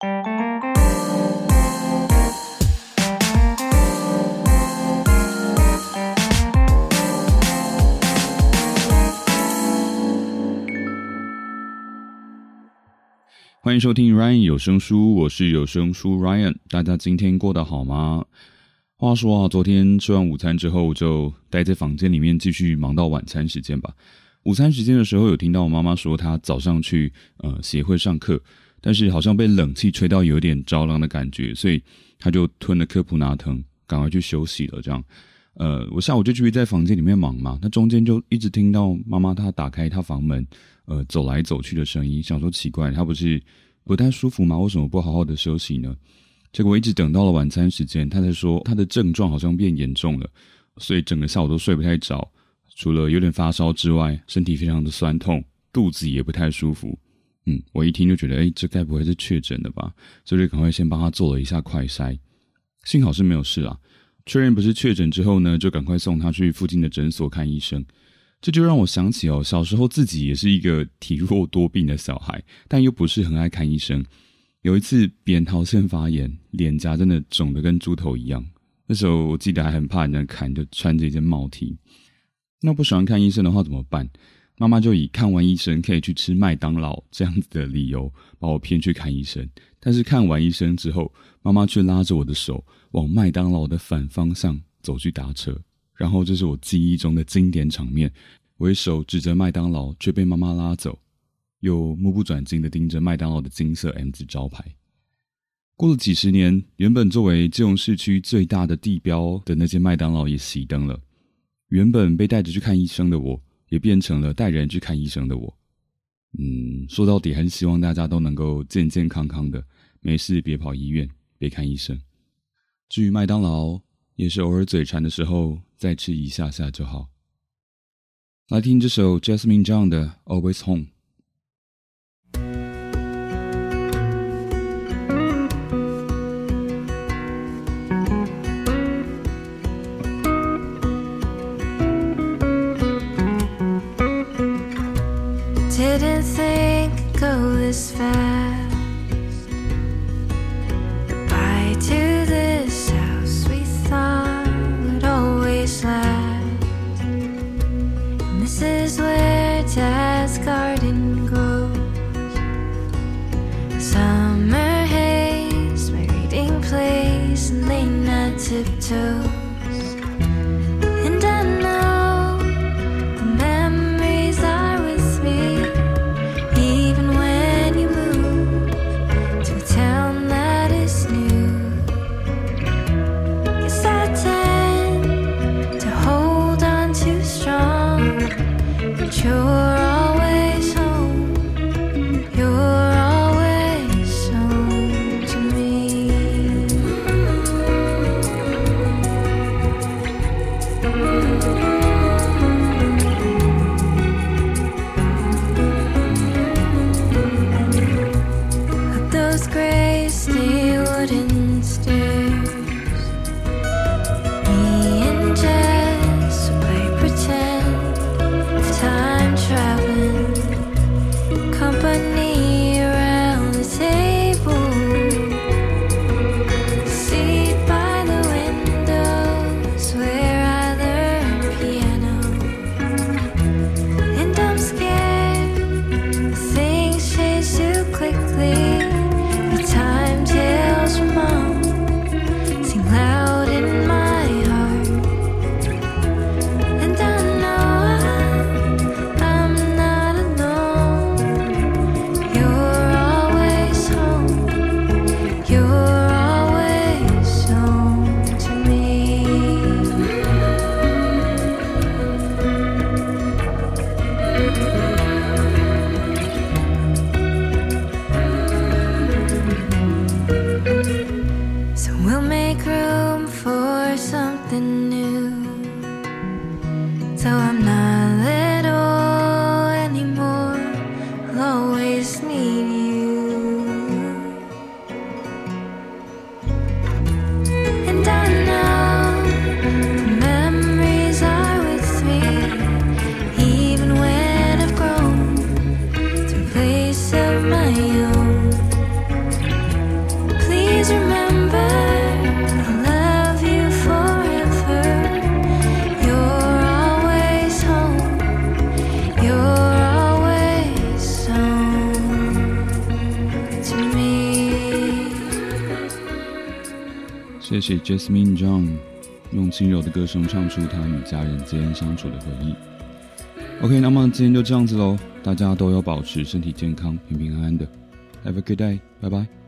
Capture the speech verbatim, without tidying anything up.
欢迎收听 Ryan 有声书，我是有声书 Ryan。 大家今天过得好吗？话说啊，昨天吃完午餐之后就待在房间里面继续忙到晚餐时间吧。午餐时间的时候有听到我妈妈说她早上去呃协会上课，但是好像被冷气吹到有点着凉的感觉，所以她就吞了科普拿疼，赶快去休息了这样。呃，我下午就继续在房间里面忙嘛，那中间就一直听到妈妈她打开她房门呃走来走去的声音，想说奇怪，她不是不太舒服吗？为什么不好好的休息呢？结果一直等到了晚餐时间，她才说她的症状好像变严重了，所以整个下午都睡不太着，除了有点发烧之外，身体非常的酸痛，肚子也不太舒服。嗯，我一听就觉得诶，这该不会是确诊的吧，所以就赶快先帮她做了一下快筛，幸好是没有事啦。确认不是确诊之后呢，就赶快送她去附近的诊所看医生。这就让我想起哦，小时候自己也是一个体弱多病的小孩，但又不是很爱看医生。有一次扁桃腺发炎，脸颊真的肿得跟猪头一样。那时候我记得还很怕人家看，就穿着一件帽 T。那不喜欢看医生的话怎么办？妈妈就以看完医生可以去吃麦当劳这样子的理由把我骗去看医生。但是看完医生之后，妈妈却拉着我的手往麦当劳的反方向走去搭车。然后这是我记忆中的经典场面，我一手指着麦当劳，却被妈妈拉走，又目不转睛地盯着麦当劳的金色 M 字招牌。过了几十年，原本作为基隆市区最大的地标的那间麦当劳也熄灯了。原本被带着去看医生的我，也变成了带人去看医生的我。嗯，说到底还是希望大家都能够健健康康的，没事别跑医院，别看医生。至于麦当劳，也是偶尔嘴馋的时候再吃一下下就好。来听这首 Jasmine John 的 Always Home。 Didn't think it'd go this fast. Goodbye to this house we thought would always last. And this is where Dad's garden grows. Summer haze, my reading place, and late night tiptoes. And I know the memories are with me, even when you move to a town that is new. Guess I tend to hold on too strong, but you're always home. You're always home to me. Up those gray stay wooden stairs, me and Jess would play pretend of time traveling, company around the table, seat by the windows where I learned piano. And I'm scared things change too quickly. The time tales from mom 谢谢 Jasmine Zhang 用轻柔的歌声唱出她与家人间相处的回忆。OK， 那么今天就这样子咯，大家都要保持身体健康，平平安安的。Have a good day， 拜拜。